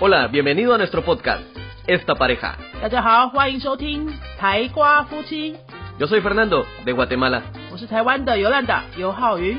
Hola, bienvenido a nuestro podcast, Esta Pareja. 大家好，欢迎收听台瓜夫妻。 Yo soy Fernando, de Guatemala. 我是台湾的尤兰达尤浩云。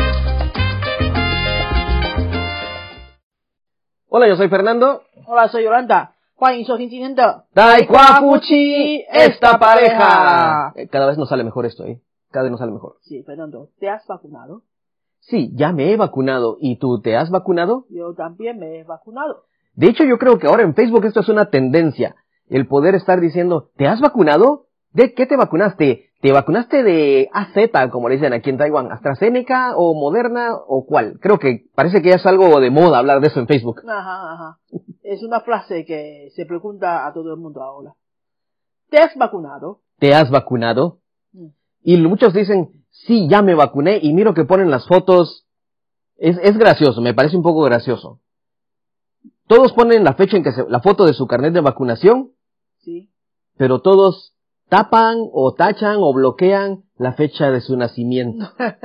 Hola, yo soy Fernando. Hola, soy Yolanda， 欢迎收听今天的 Taekwa Fuchi, Esta Pareja. Cada vez nos sale mejor esto, Cada vez nos sale mejor. Sí, Fernando, ¿te has vacunado? Sí, ya me he vacunado. ¿Y tú te has vacunado? Yo también me he vacunado. De hecho, yo creo que ahora en Facebook esto es una tendencia. El poder estar diciendo, ¿te has vacunado? ¿De qué te vacunaste? ¿Te vacunaste de AZ, como le dicen aquí en Taiwán? ¿AstraZeneca o Moderna o cuál? Creo que parece que ya es algo de moda hablar de eso en Facebook. Ajá. Es una frase que se pregunta a todo el mundo ahora. ¿Te has vacunado? ¿Te has vacunado? Y muchos dicen, sí, ya me vacuné, y miro que ponen las fotos. Es gracioso, me parece un poco gracioso. Todos ponen la fecha en que la foto de su carnet de vacunación, Sí. pero todos tapan o tachan o bloquean la fecha de su nacimiento.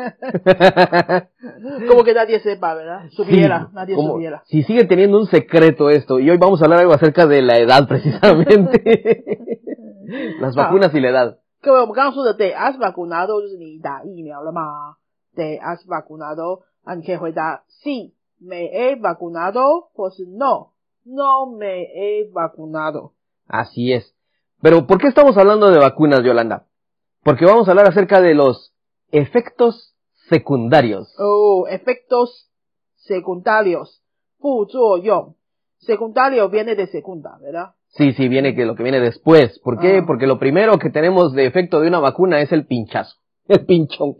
Como que nadie sepa, ¿verdad? Supiera, Sí, nadie como supiera. si sigue teniendo un secreto esto, y hoy vamos a hablar algo acerca de la edad precisamente. Las vacunas y la edad. 各位，我们刚刚说的 “te has vacunado” 就是你打疫苗了吗 ？“te has vacunado” 啊，你可以回答 “sí me he vacunado” 或是 “no me he vacunado”。 Así es. Pero, ¿por qué estamos hablando de vacunas, Yolanda? Porque vamos a hablar acerca de los efectos secundarios. Oh, efectos secundarios, 副作用。Secundario viene de segunda, ¿verdad? Sí, viene que lo que viene después. ¿Por qué? Ah. Porque lo primero que tenemos de efecto de una vacuna es el pinchazo. El pinchón.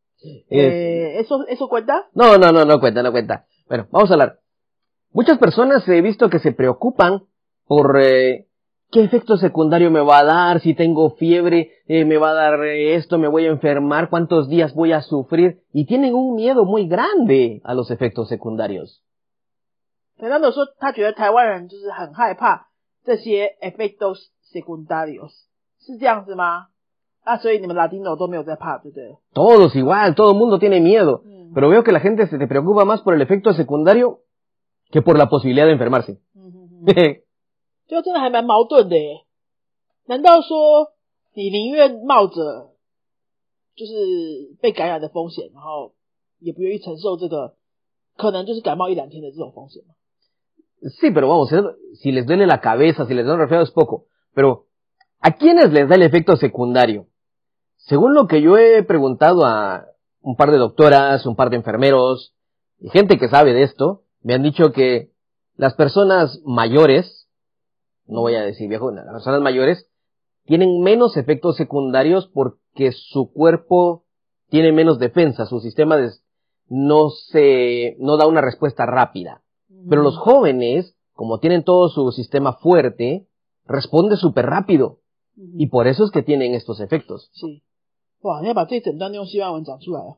¿Eso cuenta? No cuenta. Bueno, vamos a hablar. Muchas personas he visto que se preocupan por qué efecto secundario me va a dar, si tengo fiebre, me va a dar esto, me voy a enfermar, cuántos días voy a sufrir, y tienen un miedo muy grande a los efectos secundarios. Fernando 说他觉得台湾人就是很害怕这些 efectos secundarios， 是这样子吗？啊，所以你们 Latino 都没有在怕，对不对？ Todos igual, todo el mundo tiene miedo. Pero veo que la gente se te preocupa más por el efecto secundario que por la posibilidad de enfermarse. 就真的还蛮矛盾的耶。难道说你宁愿冒着就是被感染的风险，然后也不愿意承受这个可能就是感冒一两天的这种风险吗？ Sí, pero vamos, si les duele la cabeza, si les da un resfriado es poco. Pero, ¿a quiénes les da el efecto secundario? Según lo que yo he preguntado a un par de doctoras, un par de enfermeros, y gente que sabe de esto, me han dicho que las personas mayores, no voy a decir viejo, las personas mayores, tienen menos efectos secundarios porque su cuerpo tiene menos defensa, su sistema no da una respuesta rápida. Pero los jóvenes, como tienen todo su sistema fuerte, responde súper rápido. Y por eso es que tienen estos efectos. Sí. 哇，你要把这一整段用西班牙文讲出来啊。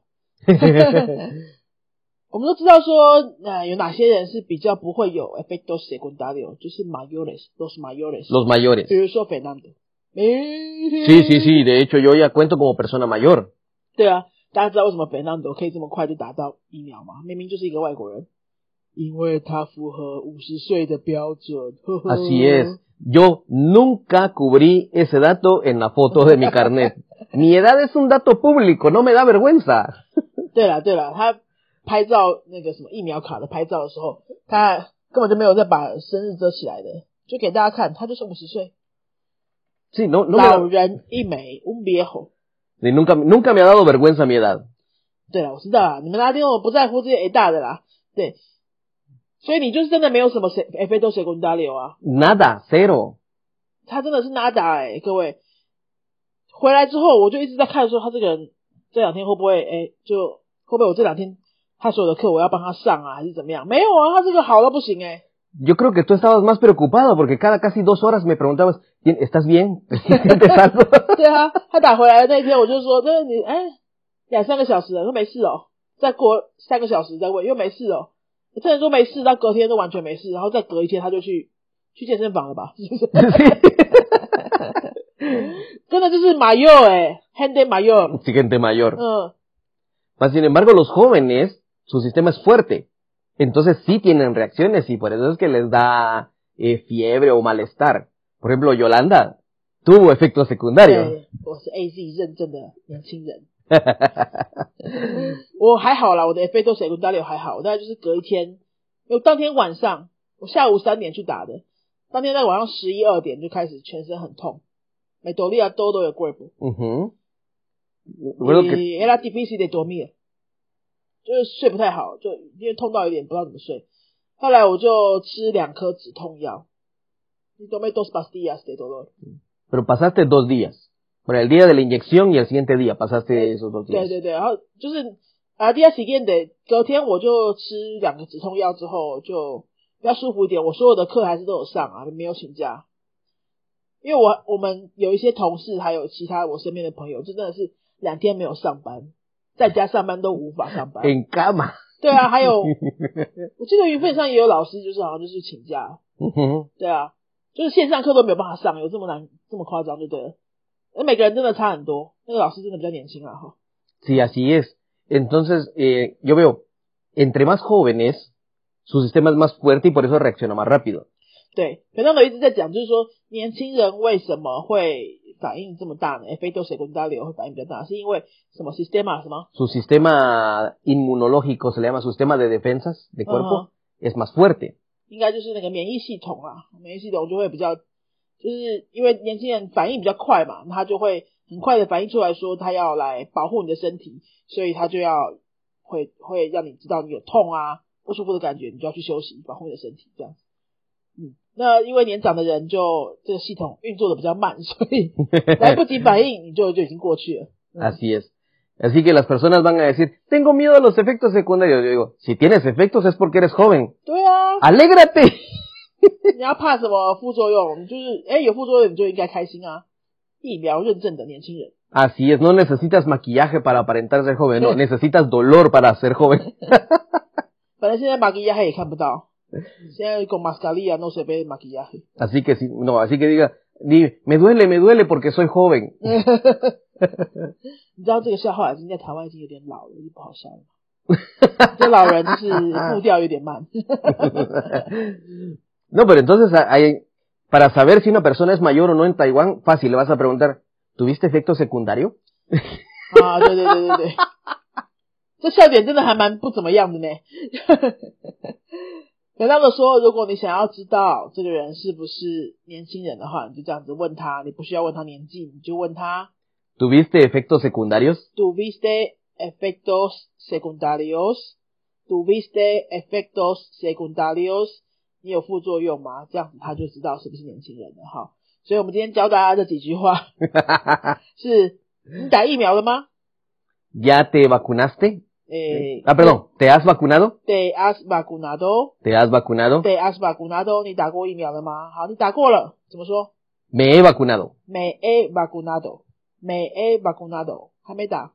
我们都知道说，有哪些人是比较不会有 efectos secundarios， 就是 mayores，los mayores。Los mayores。 比如说 Fernando。 Sí， de hecho yo ya cuento como persona mayor。 对啊，大家知道为什么 Fernando 可以这么快就打到疫苗吗？明明就是一个外国人。因为他符合50岁的标准。 Así es. Yo nunca cubrí ese dato en la foto de mi carnet. Mi edad es un dato público, no me da vergüenza. 对了，他拍照那个什么疫苗卡的拍照的时候，他根本就没有再把生日遮起来的，就给大家看，他就是50岁。 Sí, no 老人一枚，un viejo。 Sí, nunca me ha dado vergüenza mi edad. 对了，我知道啦，你们拉丁不在乎这些大的啦，对。所以你就是真的没有什么 efecto secundario 啊 ？Nada, cero。 他真的是 nada 各位。回来之后我就一直在看说他这个人这两天会不会我这两天他所有的课我要帮他上啊还是怎么样？没有啊，他这个好到不行 Yo creo que tú estabas más preocupado porque casi 2 horas me preguntabas, ¿estás bien? ¿Sientes algo? 对啊，他打回来的那天我就说，这你2-3个小时了，说没事哦，再过3个小时再问又没事哦。这人说没事，到隔天都完全没事，然后再隔一天他就去健身房了吧？是不是？真的就是 mayor gente mayor. Sí, gente mayor. Mas, sin embargo, los jóvenes, su sistema es fuerte. Entonces sí tienen reacciones y por eso es que les da fiebre o malestar. Por ejemplo, Yolanda tuvo efectos secundarios. 对，我是 AZ 认证的年轻人。我还好啦，我的 efecto secundario 还好，我大概就是隔一天，因为当天晚上我下午3点去打的，当天在晚上11、2点就开始全身很痛，me dolía todo el cuerpo。era difícil de dormir， 就是睡不太好，就因为痛到有点不知道怎么睡。后来我就吃2颗止痛药，y tomé 2 pastillas de dolor。 Pero pasaste 2 días. Bueno, el día de la inyección y el siguiente día pasaste esos 2 días. 对，然后就是día siguiente 隔天我就吃2个止痛药之后就比较舒服一点，我所有的课还是都有上啊，没有请假。因为我们有一些同事还有其他我身边的朋友，就真的是2天没有上班，在家上班都无法上班。 En cama. 对啊，还有我记得云分上也有老师就是好像就是请假。对啊，就是线上课都没有办法上，有这么难这么夸张就对了。每个人真的差很多，那个老师真的比较年轻啦哈。 Sí, así es. Entonces, yo veo, entre más jóvenes, su sistema es más fuerte y por eso reacciona más rápido. 对，反正我一直在讲，就是说年轻人为什么会反应这么大呢 ？efecto secundario 会反应比较大，是因为什么 sistema 什么 Su sistema inmunológico, se le llama su sistema de defensas de cuerpo, es más fuerte. 应该就是那个免疫系统啦，免疫系统就会比较，就是因为年轻人反应比较快嘛，他就会很快的反应出来说他要来保护你的身体，所以他就要会让你知道你有痛啊不舒服的感觉，你就要去休息保护你的身体这样子。那因为年长的人就这个系统运作的比较慢，所以来不及反应你就已经过去了。 Así es. Así que las personas van a decir, tengo miedo a los efectos secundarios. Yo digo, si tienes efectos es porque eres joven. 对啊 ¡Alégrate! 你要怕什么副作用？你就是有副作用你就应该开心啊！疫苗认证的年轻人。 Así es, no necesitas maquillaje para aparentar ser joven, no, necesitas dolor para ser joven. 反正现在maquillaje也看不到，现在con mascarilla no se ve maquillaje。 Así que si, no, así que diga, me duele porque soy joven. 你知道这个笑话已经在台湾已经有点老了，就不好笑了。这老人就是步调有点慢。 No, pero entonces para saber si una persona es mayor o no en Taiwán, fácil, le vas a preguntar, ¿tuviste efecto secundario? 啊，对，这笑点真的还蛮不怎么样的呢。有那个说，如果你想要知道这个人是不是年轻人的话，你就这样子问他，你不需要问他年纪，你就问他 ¿Tuviste efectos secundarios? ¿Tuviste efectos secundarios? ¿Tuviste efectos secundarios? 你有副作用吗？这样子他就知道是不是年轻人了哈。所以我们今天教大家这几句话是你打疫苗了吗？ ¿Ya te vacunaste? Perdón, ¿te has vacunado? ¿Te has vacunado? ¿Te has vacunado? ¿Te has vacunado? 你打过疫苗了吗？好，你打过了，怎么说？ Me he vacunado. Me he vacunado. Me he vacunado. 还没打。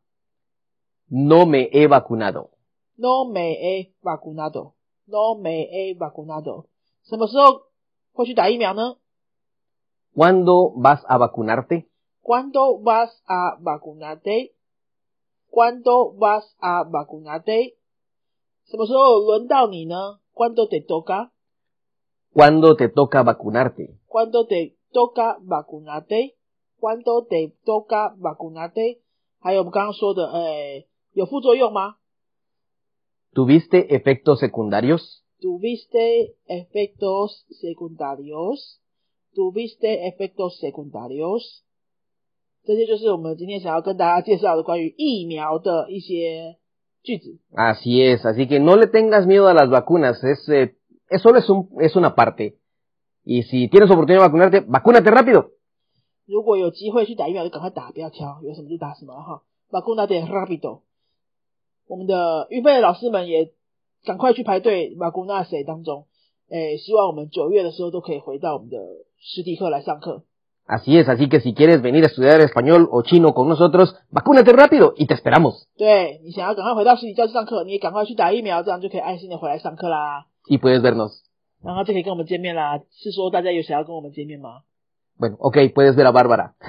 No me he vacunado. No me he vacunado. No me he vacunado. 什么时候会去打疫苗呢？ ¿Cuándo vas a vacunarte? ¿Cuándo vas a vacunarte? ¿Cuándo vas a vacunarte? 什么时候轮到你呢？ ¿Cuándo te toca? ¿Cuándo te toca vacunarte? ¿Cuándo te toca vacunarte? ¿Cuándo te toca vacunarte? 还有我们刚刚说的，有副作用吗？ ¿Tuviste efectos secundarios? ¿Tuviste efectos secundarios? ¿Tuviste efectos secundarios? 这些就是我们今天想要跟大家介绍的关于疫苗的一些句子。 Así es, así que no le tengas miedo a las vacunas, solo es una parte. Y si tienes oportunidad de vacunarte, vacúnate rápido. 如果有机会去打疫苗就赶快打，不要挑，有什么就打什么哈。Vacunate rápido。我们的预备的老师们也赶快去排队 vacunarse 当中，希望我们9月的时候都可以回到我们的实体课来上课。 Así es, así que si quieres venir a estudiar español o chino con nosotros, vacúnate rápido y te esperamos. 对，你想要赶快回到实体教室上课，你也赶快去打疫苗，这样就可以安心的回来上课啦。 Y puedes vernos. 然后就可以跟我们见面啦。是说大家有想要跟我们见面吗？ Bueno, ok, puedes ver a Bárbara.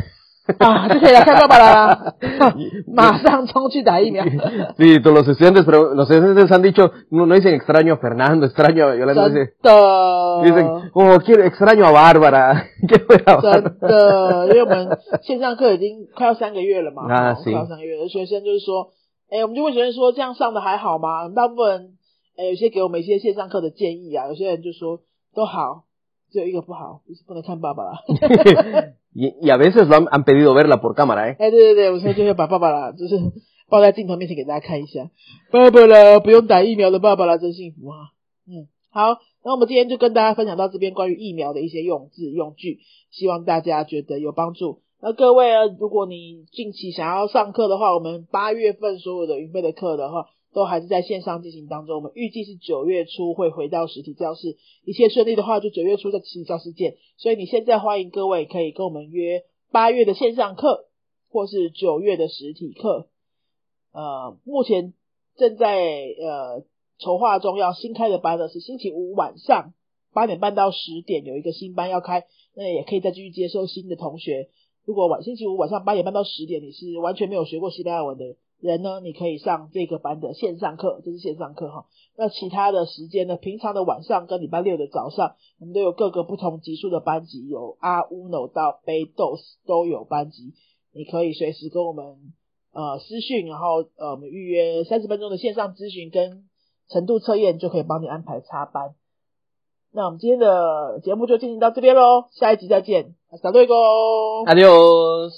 啊，就可以来看爸爸啦，马上冲去打疫苗。 Sí, todos los estudiantes han dicho, no dicen extraño a Fernando, extraño a Yolanda, dicen, oh, quiero extraño a Bárbara, que fuera Bárbara. 真的，因为我们线上课已经快要3个月了嘛，快要3个月了，学生就是说，我们就问学生说，这样上的还好吗？大部分人，有些给我们一些线上课的建议啊，有些人就说都好，只有一个不好，就是不能看爸爸啦。 y a veces lo han pedido verla por cámara, 对，我说就会把爸爸啦，就是抱在镜头面前给大家看一下，爸爸啦，不用打疫苗的爸爸啦，真幸福啊。好，那我们今天就跟大家分享到这边关于疫苗的一些用字用句，希望大家觉得有帮助。那各位如果你近期想要上课的话，我们8月份所有的云飞的课的话，都还是在线上进行当中，我们预计是9月初会回到实体教室，一切顺利的话就9月初在实体教室见。所以你现在欢迎各位可以跟我们约8月的线上课或是9月的实体课。目前正在筹划中，要新开的班呢是星期五晚上8点半到10点有一个新班要开，那也可以再继续接受新的同学。如果星期五晚上8点半到10点你是完全没有学过西班牙文的人呢，你可以上这个班的线上课，这是线上课哈。那其他的时间呢，平常的晚上跟礼拜六的早上，我们都有各个不同级数的班级，有 A1 到 B2 都有班级，你可以随时跟我们私讯，然后我们预约30分钟的线上咨询跟程度测验，就可以帮你安排插班。那我们今天的节目就进行到这边咯，下一集再见。Hasta luego. Adiós.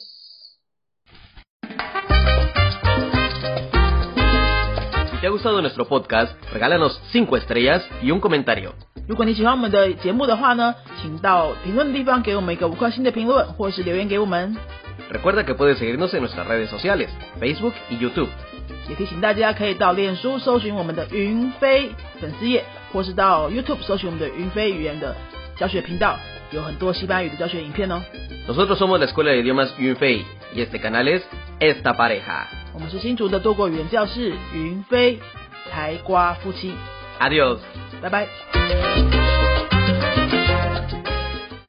Si te ha gustado nuestro podcast, regálanos 5 estrellas y un comentario. 如果你喜欢我们的节目的话呢，请到评论的地方给我们一个5颗星的评论，或是留言给我们。 Recuerda que puedes seguirnos en nuestras redes sociales, Facebook y YouTube. 也提醒大家可以到脸书搜寻我们的云飞粉丝页，或是到 YouTube 搜寻我们的云飞语言的教学频道，有很多西班牙语的教学影片哦。 Nosotros somos la Escuela de Idiomas Yunfei y este canal es Esta Pareja. 我们是新竹的多国语言教室云飞台瓜夫妻。 Adiós. 拜拜。